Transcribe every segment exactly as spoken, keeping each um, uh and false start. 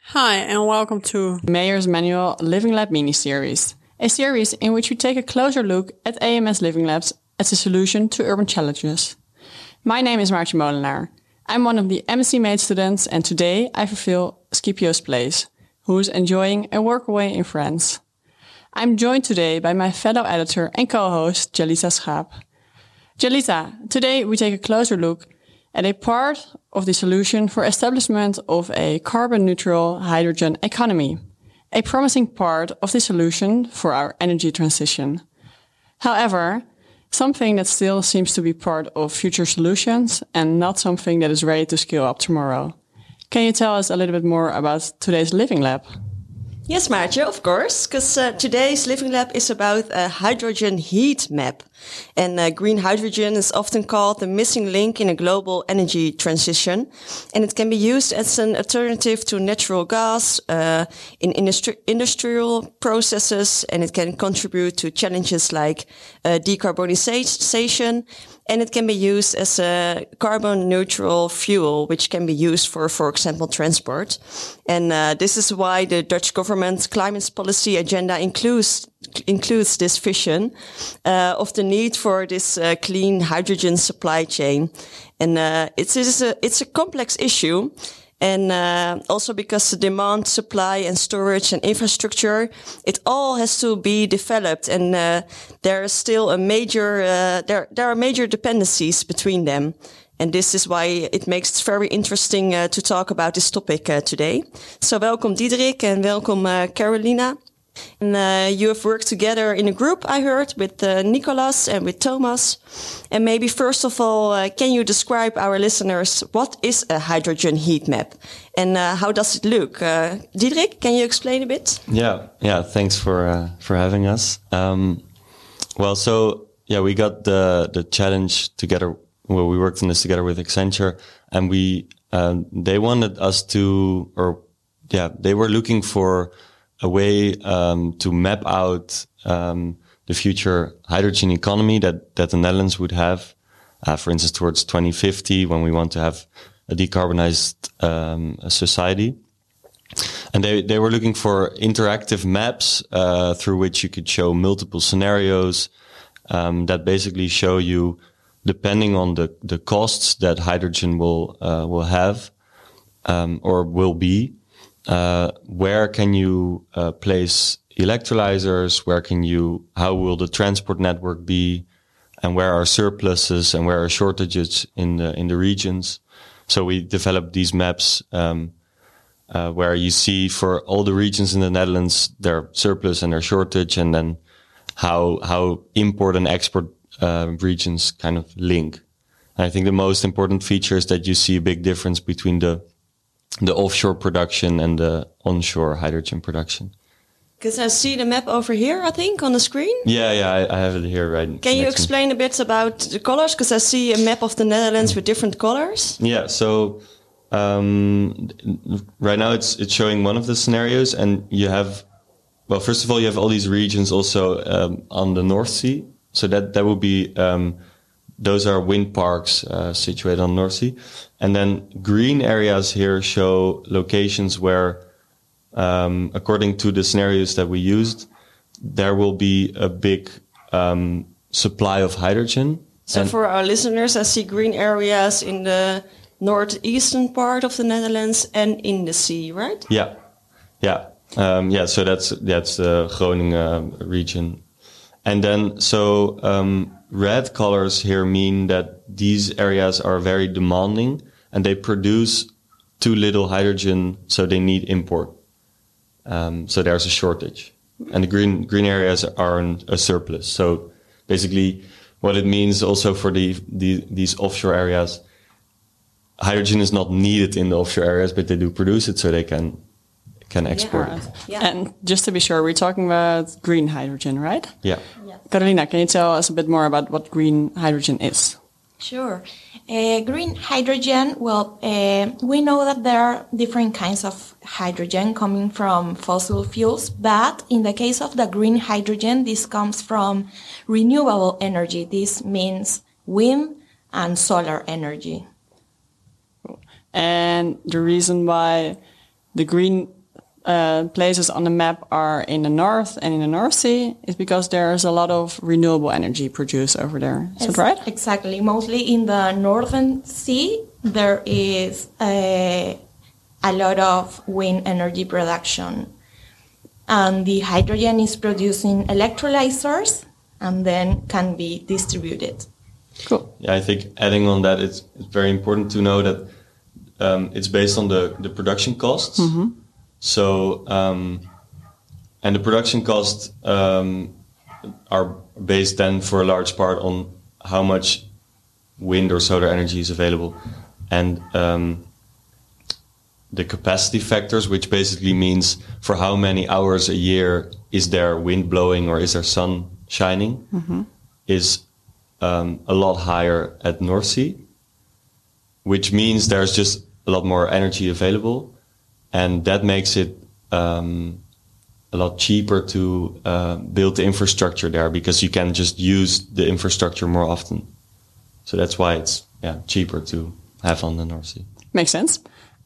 Hi, and welcome to Mayors Manual Living Lab mini-series, a series in which we take a closer look at A M S Living Labs as a solution to urban challenges. My name is Maartje Molenaar. I'm one of the M S C Made students, and today I fulfill Scipio's place, who is enjoying a workaway in France. I'm joined today by my fellow editor and co-host, Jalisa Schaap. Jalisa, today we take a closer look at a part of the solution for establishment of a carbon-neutral hydrogen economy, a promising part of the solution for our energy transition. However, something that still seems to be part of future solutions and not something that is ready to scale up tomorrow. Can you tell us a little bit more about today's Living Lab? Yes, Maartje, of course, because uh, today's Living Lab is about a hydrogen heat map. And uh, green hydrogen is often called the missing link in a global energy transition. And it can be used as an alternative to natural gas uh, in industri- industrial processes. And it can contribute to challenges like uh, decarbonization. And it can be used as a carbon neutral fuel, which can be used for, for example, transport. And uh, this is why the Dutch government's climate policy agenda includes includes this vision uh, of the need for this uh, clean hydrogen supply chain. And uh, it's, it's, a, it's a complex issue. And uh, also because the demand, supply and storage and infrastructure, it all has to be developed. And uh, there is still a major, uh, there, there are major dependencies between them. And this is why it makes it very interesting uh, to talk about this topic uh, today. So welcome Diederik and welcome uh, Carolina. And uh, you have worked together in a group, I heard, with uh, Nicolas and with Thomas. And maybe first of all, uh, can you describe our listeners what is a hydrogen heat map and uh, how does it look? Uh, Diederik, can you explain a bit? Yeah, yeah. Thanks for uh, for having us. Um, well, so yeah, we got the the challenge together. Well, we worked on this together with Accenture, and we um, they wanted us to, or yeah, they were looking for a way um, to map out um, the future hydrogen economy that, that the Netherlands would have, uh, for instance, towards twenty fifty, when we want to have a decarbonized um, society. And they, they were looking for interactive maps uh, through which you could show multiple scenarios um, that basically show you, depending on the, the costs that hydrogen will uh, will have um, or will be, Uh, where can you uh, place electrolyzers? Where can you, how will the transport network be? And where are surpluses and where are shortages in the, in the regions? So we developed these maps, um, uh, where you see for all the regions in the Netherlands, their surplus and their shortage, and then how, how import and export, uh, regions kind of link. And I think the most important feature is that you see a big difference between the the offshore production and the onshore hydrogen production. Because I see the map over here, I think, on the screen. Yeah, yeah, I, I have it here right. Can you explain a bit about the colors? Because I see a map of the Netherlands with different colors. Yeah, so um, right now it's it's showing one of the scenarios, and you have, well, first of all, you have all these regions also um, on the North Sea. So that that would be um, those are wind parks uh, situated on the North Sea. And then green areas here show locations where, um, according to the scenarios that we used, there will be a big um, supply of hydrogen. So and for our listeners, I see green areas in the northeastern part of the Netherlands and in the sea, right? Yeah, yeah, um, yeah. So that's that's the Groningen region, and then so um, red colors here mean that these areas are very demanding. And they produce too little hydrogen, so they need import. Um, so there's a shortage. And the green green areas are in a surplus. So basically, what it means also for the, the these offshore areas, hydrogen is not needed in the offshore areas, but they do produce it, so they can can export Yeah. it. Yeah. And just to be sure, we're talking about green hydrogen, right? Yeah. Yes. Carolina, can you tell us a bit more about what green hydrogen is? Sure. Uh, green hydrogen, well, uh, we know that there are different kinds of hydrogen coming from fossil fuels, but in the case of the green hydrogen, this comes from renewable energy. This means wind and solar energy. And the reason why the green uh, places on the map are in the north and in the North Sea is because there's a lot of renewable energy produced over there. Is Yes, that right? Exactly. Mostly in the Northern Sea, there is a, a lot of wind energy production. And the hydrogen is produced in electrolyzers and then can be distributed. Cool. Yeah, I think adding on that, it's, it's very important to know that um, it's based on the, the production costs. Mm-hmm. So, um, and the production costs um, are based then for a large part on how much wind or solar energy is available. And um, the capacity factors, which basically means for how many hours a year is there wind blowing or is there sun shining, mm-hmm. is um, a lot higher at North Sea, which means there's just a lot more energy available. And that makes it um, a lot cheaper to uh, build the infrastructure there because you can just use the infrastructure more often. So that's why it's yeah cheaper to have on the North Sea. Makes sense.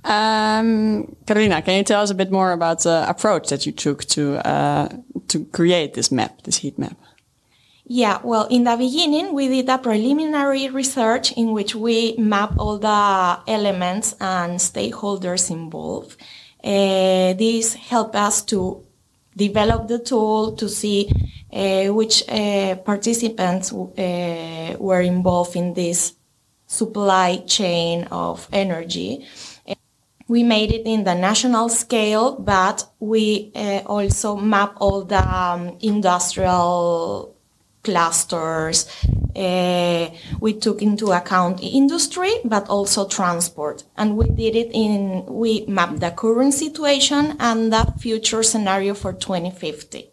Um, Carolina, can you tell us a bit more about the approach that you took to uh, to create this map, this heat map? Yeah, well, in the beginning, we did a preliminary research in which we map all the elements and stakeholders involved. Uh, this helped us to develop the tool to see uh, which uh, participants uh, were involved in this supply chain of energy. We made it in the national scale, but we uh, also map all the um, industrial clusters. Uh, we took into account industry, but also transport. And we did it in, we mapped the current situation and the future scenario for twenty fifty.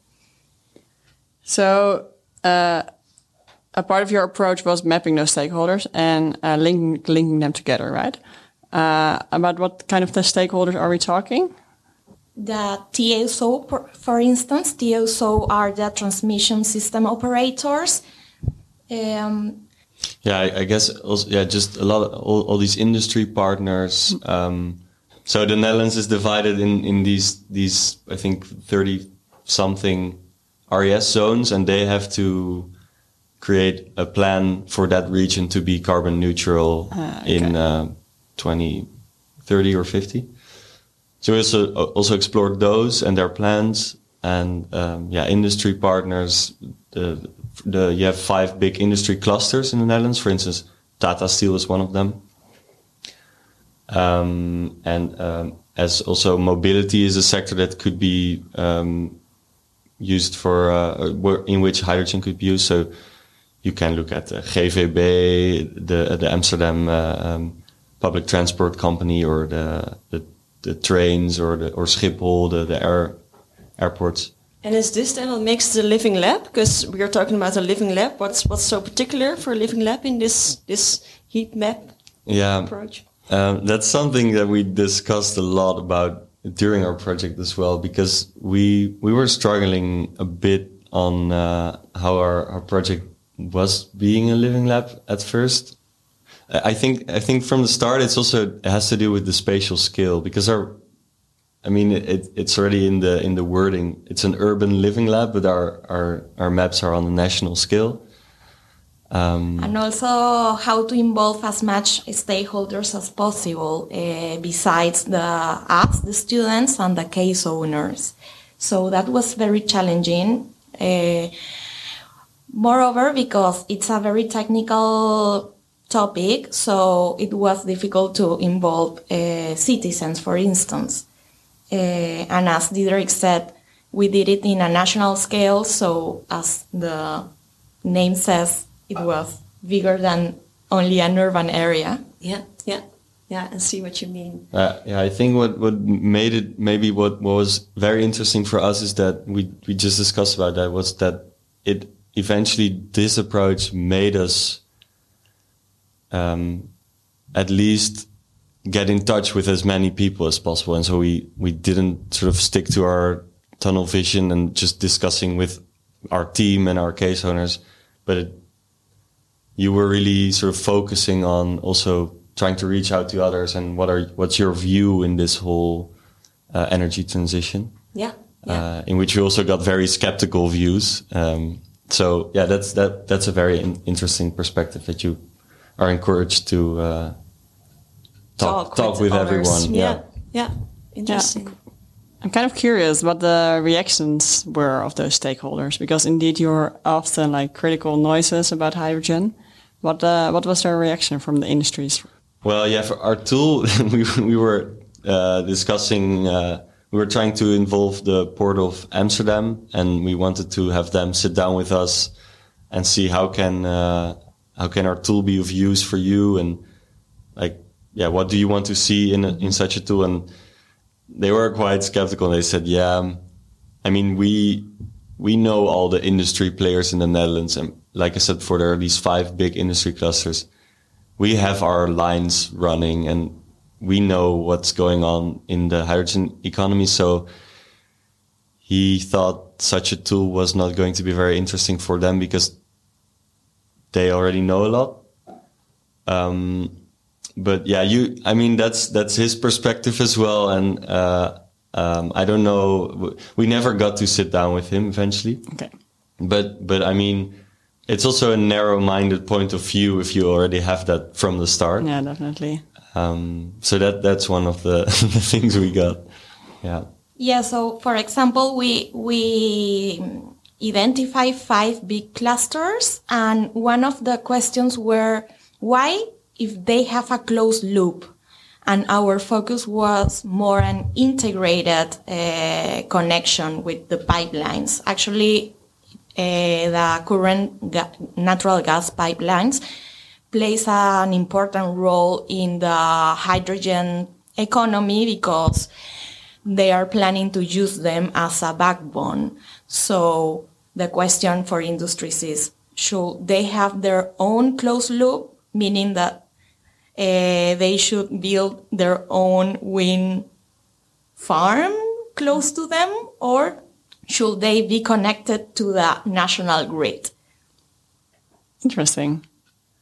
So, uh, a part of your approach was mapping those stakeholders and uh, linking, linking them together, right? Uh, about what kind of the stakeholders are we talking? The T S O, for instance, T S O are the transmission system operators. Um, yeah, I, I guess also, yeah, just a lot of all, all these industry partners. Um, so the Netherlands is divided in, in these, these, I think, thirty something R E S zones, and they have to create a plan for that region to be carbon neutral uh, okay. in uh, twenty thirty or fifty. So we also also explored those and their plans, and um, yeah, industry partners. The the you have five big industry clusters in the Netherlands. For instance, Tata Steel is one of them. Um, and um, as also mobility is a sector that could be um, used for uh, in which hydrogen could be used. So you can look at the G V B, the the Amsterdam uh, um, public transport company, or the the the trains, or the or Schiphol, the, the air airports. And is this then what makes the living lab? Because we are talking about a living lab. What's what's so particular for a living lab in this this heat map yeah, approach? Um, that's something that we discussed a lot about during our project as well, because we we were struggling a bit on uh, how our, our project was being a living lab at first. I think I think from the start it's also it has to do with the spatial scale, because our I mean it, it's already in the in the wording. It's an urban living lab, but our our, our maps are on a national scale. Um, and also how to involve as much stakeholders as possible, uh, besides the us, the students, and the case owners. So that was very challenging. Uh, moreover, because it's a very technical topic, so it was difficult to involve uh, citizens, for instance. Uh, and as Diederik said, we did it in a national scale, so as the name says, it was bigger than only an urban area. Yeah, yeah, yeah, I see what you mean. Uh, yeah, I think what, what made it, maybe what, what was very interesting for us is that we, we just discussed about that, was that it eventually, this approach made us um, at least get in touch with as many people as possible. And so we, we didn't sort of stick to our tunnel vision and just discussing with our team and our case owners, but it, you were really sort of focusing on also trying to reach out to others and what are what's your view in this whole uh, energy transition. Yeah. yeah. Uh, in which we also got very skeptical views. Um, so yeah, that's that that's a very in- interesting perspective that you are encouraged to uh, talk talk, talk with, with everyone. Yeah. Yeah, yeah, interesting. Yeah. I'm kind of curious what the reactions were of those stakeholders, because indeed you're often like critical noises about hydrogen. What uh, what was their reaction from the industries? Well, yeah, for our tool, we we were uh, discussing. Uh, we were trying to involve the Port of Amsterdam, and we wanted to have them sit down with us and see how can uh, how can our tool be of use for you, and like yeah, what do you want to see in a, in such a tool? And they were quite skeptical. They said, yeah, I mean, we we know all the industry players in the Netherlands. And like I said before, there are these five big industry clusters. We have our lines running and we know what's going on in the hydrogen economy. So he thought such a tool was not going to be very interesting for them because they already know a lot. Um, But yeah, you. I mean, that's that's his perspective as well, and uh, um, I don't know. We never got to sit down with him eventually. Okay. But but I mean, it's also a narrow-minded point of view if you already have that from the start. Yeah, definitely. Um, so that that's one of the, the things we got. Yeah. Yeah. So, for example, we we identify five big clusters, and one of the questions were why, if they have a closed loop, and our focus was more an integrated uh, connection with the pipelines. Actually, uh, the current ga- natural gas pipelines plays an important role in the hydrogen economy because they are planning to use them as a backbone. So the question for industries is, should they have their own closed loop, meaning that Uh, they should build their own wind farm close to them, or should they be connected to the national grid? Interesting.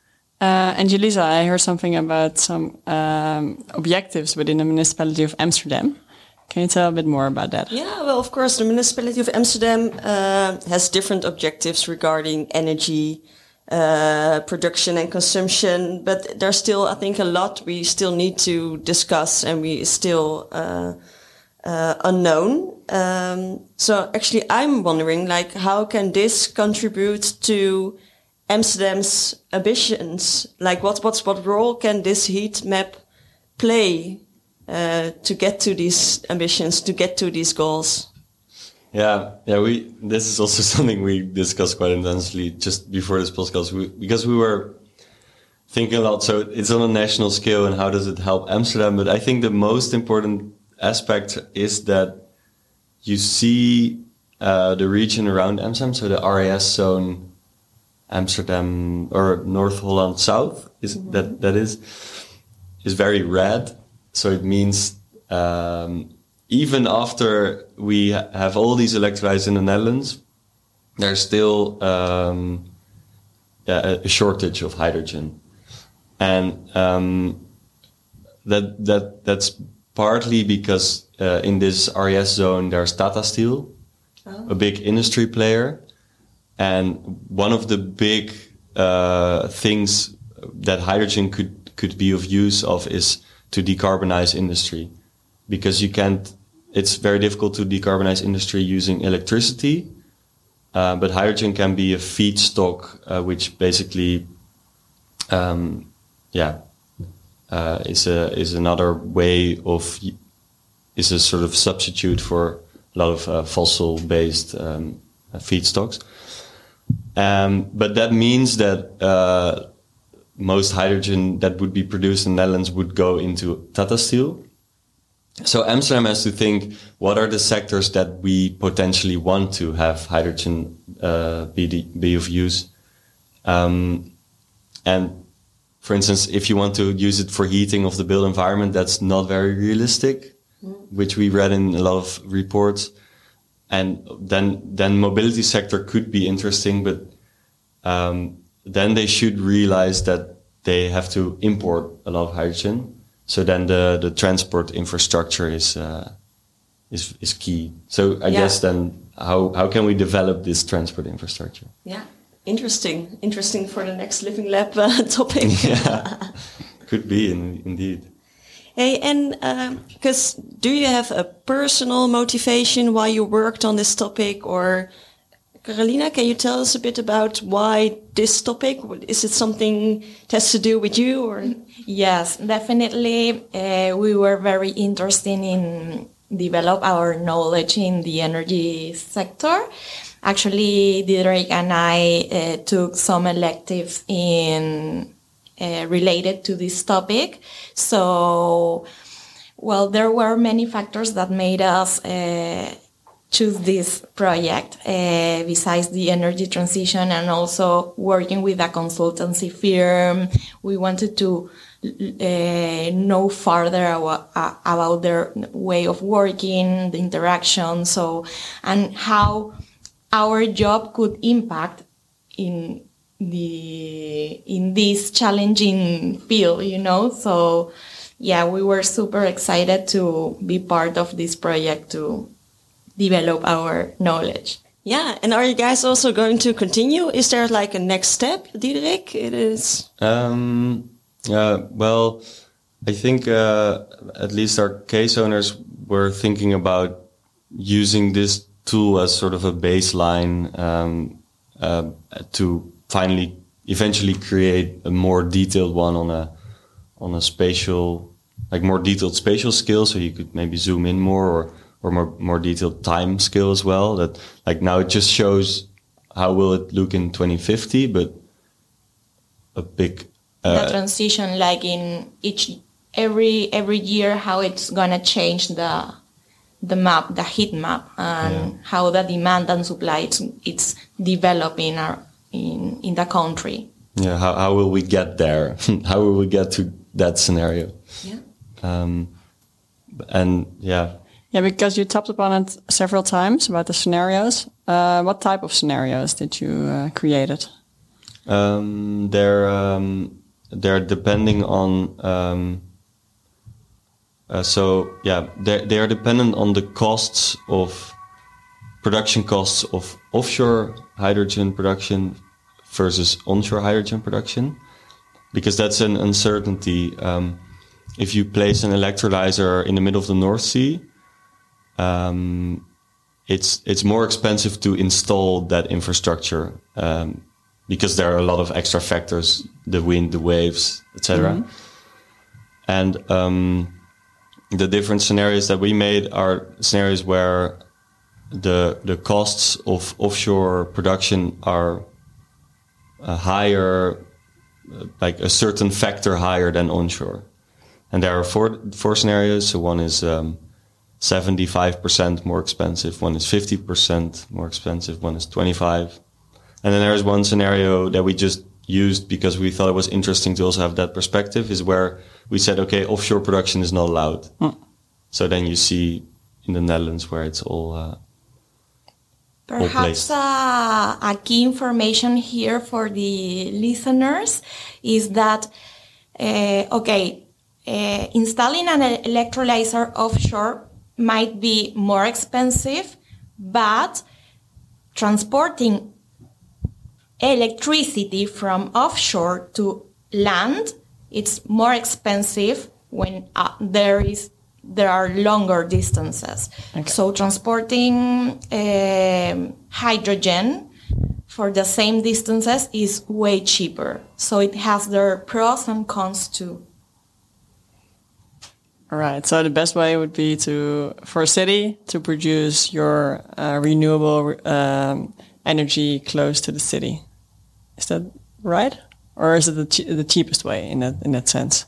Uh, and Julissa, I heard something about some um, objectives within the municipality of Amsterdam. Can you tell a bit more about that? Yeah, well, of course, the municipality of Amsterdam uh, has different objectives regarding energy Uh, production and consumption, but there's still, I think, a lot we still need to discuss, and we still uh, uh, unknown. Um, so actually, I'm wondering, like, how can this contribute to Amsterdam's ambitions? Like, what what what role can this heat map play uh, to get to these ambitions, to get to these goals? Yeah, yeah. We this is also something we discussed quite intensely just before this podcast, we, because we were thinking a lot. So it's on a national scale, and how does it help Amsterdam? But I think the most important aspect is that you see uh, the region around Amsterdam, so the R A S zone, Amsterdam or North Holland South is mm-hmm. that that is is very red. So it means. Um, Even after we have all these electrolyzers in the Netherlands, there's still um, yeah, a shortage of hydrogen, and um, that that that's partly because uh, in this R E S zone there's Tata Steel, oh. a big industry player, and one of the big uh, things that hydrogen could could be of use of is to decarbonize industry, because you can't. It's very difficult to decarbonize industry using electricity, uh, but hydrogen can be a feedstock, uh, which basically, um, yeah, uh, is a is another way of is a sort of substitute for a lot of uh, fossil-based um, feedstocks. Um, but that means that uh, most hydrogen that would be produced in the Netherlands would go into Tata Steel. So Amsterdam has to think, what are the sectors that we potentially want to have hydrogen uh, be, the, be of use? Um, and for instance, if you want to use it for heating of the built environment, that's not very realistic, mm. which we read in a lot of reports. And then then mobility sector could be interesting, but um, then they should realize that they have to import a lot of hydrogen. So then the, the transport infrastructure is uh, is is key. So I Yeah. guess then how how can we develop this transport infrastructure? Yeah, interesting. Interesting for the next Living Lab uh, topic. Yeah, could be in, indeed. Hey, and because um, do you have a personal motivation why you worked on this topic, or Carolina, can you tell us a bit about why this topic? Is it something that has to do with you, or? Yes, definitely. Uh, we were very interested in develop our knowledge in the energy sector. Actually, Diederik and I uh, took some electives in uh, related to this topic. So, well, there were many factors that made us uh, choose this project, uh, besides the energy transition and also working with a consultancy firm. We wanted to uh, know further about, uh, about their way of working, the interaction, so, and how our job could impact in the in this challenging field, you know. So, yeah, we were super excited to be part of this project to develop our knowledge. Yeah, and are you guys also going to continue? Is there like a next step, Diederik? It is. Um, uh, well, I think uh, at least our case owners were thinking about using this tool as sort of a baseline um, uh, to finally, eventually create a more detailed one on a on a spatial, like more detailed spatial scale. So you could maybe zoom in more, or or more more detailed time scale as well. That like now it just shows how will it look in twenty fifty, but a big uh, the transition, like in each every every year, how it's gonna change the the map, the heat map, and yeah. how the demand and supply it's, it's developing our, in in the country. Yeah, how how will we get there? How will we get to that scenario? Yeah. Um, and yeah. Yeah, because you touched upon it several times about the scenarios. Uh, what type of scenarios did you uh, create it? Um, they're um, they're depending on. Um, uh, so yeah, they they are dependent on the costs of production costs of offshore hydrogen production versus onshore hydrogen production, because that's an uncertainty. Um, if you place an electrolyzer in the middle of the North Sea, Um, it's it's more expensive to install that infrastructure um, because there are a lot of extra factors: the wind, the waves, et cetera. Mm-hmm. And um, the different scenarios that we made are scenarios where the the costs of offshore production are uh, higher, uh, like a certain factor higher than onshore. And there are four four scenarios. So one is um, seventy-five percent more expensive, one is fifty percent more expensive, one is twenty-five. And then there's one scenario that we just used because we thought it was interesting to also have that perspective, is where we said, okay, offshore production is not allowed. Hmm. So then you see in the Netherlands where it's all uh, Perhaps uh, a key information here for the listeners is that, uh, okay, uh, installing an electrolyzer offshore might be more expensive, but transporting electricity from offshore to land, it's more expensive when uh, there is there are longer distances. Okay. So transporting uh, hydrogen for the same distances is way cheaper. So it has their pros and cons too. All right. So the best way would be to, for a city, to produce your uh, renewable um, energy close to the city. Is that right, or is it the che- the cheapest way in that in that sense?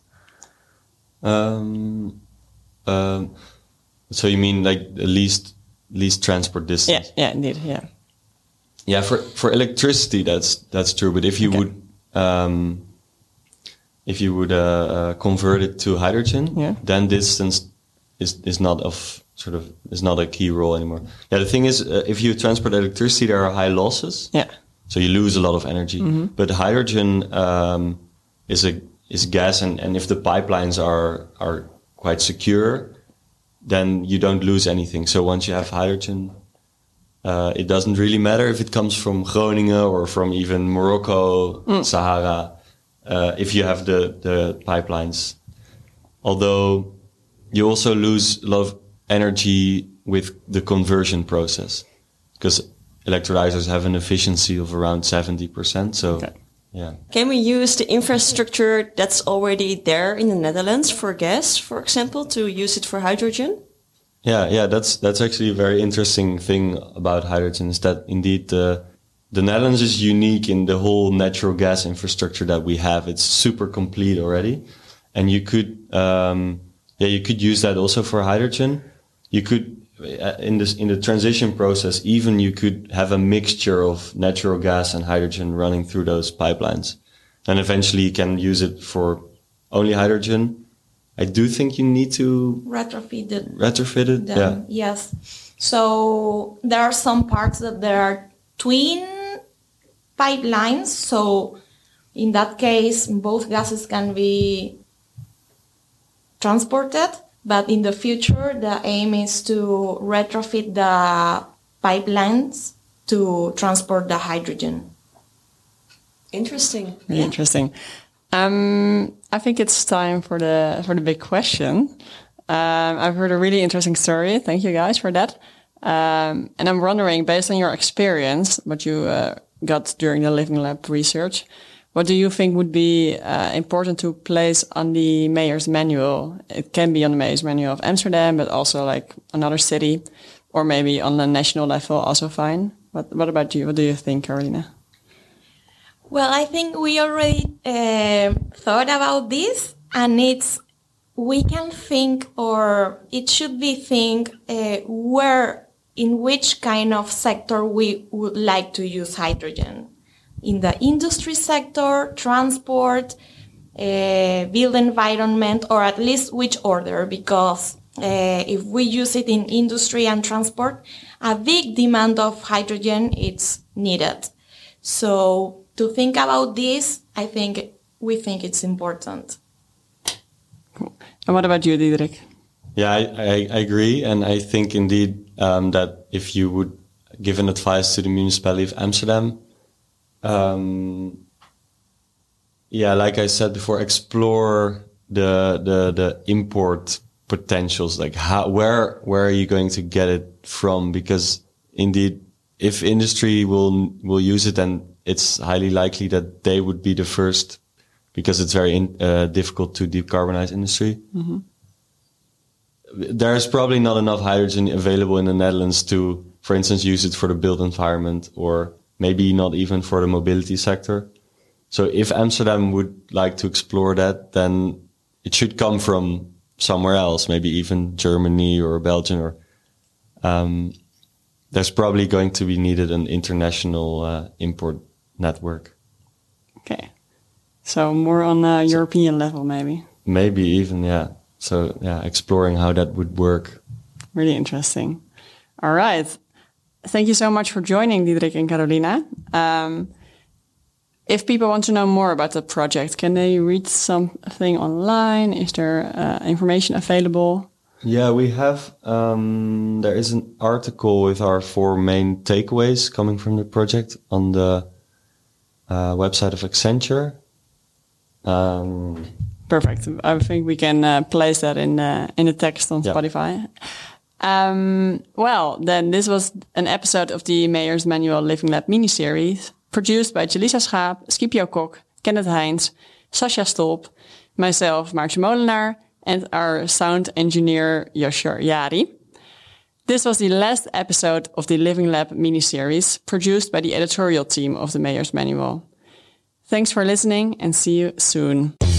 Um. Um. So you mean like the least least transport distance? Yeah. Yeah. Indeed. Yeah. Yeah. For for electricity, that's that's true. But if you okay. would. Um, If you would uh, uh, convert it to hydrogen, yeah. then distance is is not of sort of is not a key role anymore. Yeah, the thing is, uh, if you transport electricity, there are high losses. Yeah, so you lose a lot of energy. Mm-hmm. But hydrogen um, is a is gas, and, and if the pipelines are are quite secure, then you don't lose anything. So once you have hydrogen, uh, it doesn't really matter if it comes from Groningen or from even Morocco, mm. Sahara, uh, if you have the, the pipelines. Although you also lose a lot of energy with the conversion process, because electrolyzers have an efficiency of around seventy percent. So, okay. yeah. Can we use the infrastructure that's already there in the Netherlands for gas, for example, to use it for hydrogen? Yeah, yeah, that's that's actually a very interesting thing about hydrogen, is that indeed the the Netherlands is unique in the whole natural gas infrastructure that we have. It's super complete already, and you could um, yeah you could use that also for hydrogen. You could in this in the transition process, even you could have a mixture of natural gas and hydrogen running through those pipelines, and eventually you can use it for only hydrogen. I do think you need to retrofit it. Retrofit it, them. yeah. Yes. So there are some parts that there are twin pipelines. So in that case, both gases can be transported. But in the future, the aim is to retrofit the pipelines to transport the hydrogen. Interesting. Really yeah. interesting. Um, I think it's time for the for the big question. Um, I've heard a really interesting story. Thank you guys for that. Um, and I'm wondering, based on your experience, what you uh, got during the Living Lab research, what do you think would be uh, important to place on the mayor's manual? It can be on the mayor's manual of Amsterdam, but also like another city, or maybe on the national level, also fine. What What about you? What do you think, Carolina? Well, I think we already uh, thought about this, and it's we can think, or it should be think uh, where, in which kind of sector we would like to use hydrogen. In the industry sector, transport, uh, build environment, or at least which order, because uh, if we use it in industry and transport, a big demand of hydrogen is needed. So to think about this, I think we think it's important. Cool. And what about you, Diederik? Yeah, I, I, I agree. And I think indeed um, that if you would give an advice to the municipality of Amsterdam, um, yeah, like I said before, explore the the the import potentials. Like how, where where are you going to get it from? Because indeed, if industry will will use it, then it's highly likely that they would be the first, because it's very in, uh, difficult to decarbonize industry. Mm-hmm. There's probably not enough hydrogen available in the Netherlands to, for instance, use it for the built environment, or maybe not even for the mobility sector. So if Amsterdam would like to explore that, then it should come from somewhere else, maybe even Germany or Belgium, or um, there's probably going to be needed an international uh, import network. Okay. So more on a European level, maybe. Maybe even, yeah. So, yeah, exploring how that would work. Really interesting. All right. Thank you so much for joining, Diederik and Carolina. Um, if people want to know more about the project, can they read something online? Is there uh, information available? Yeah, we have, um, there is an article with our four main takeaways coming from the project on the uh, website of Accenture. Um, Perfect. I think we can uh, place that in uh, in the text on yeah. Spotify. Um, well, then this was an episode of the Mayor's Manual Living Lab mini-series, produced by Jelisa Schaap, Scipio Kok, Kenneth Heins, Sascha Stolp, myself, Maartje Molenaar, and our sound engineer, Joshua Yari. This was the last episode of the Living Lab mini-series, produced by the editorial team of the Mayor's Manual. Thanks for listening, and see you soon.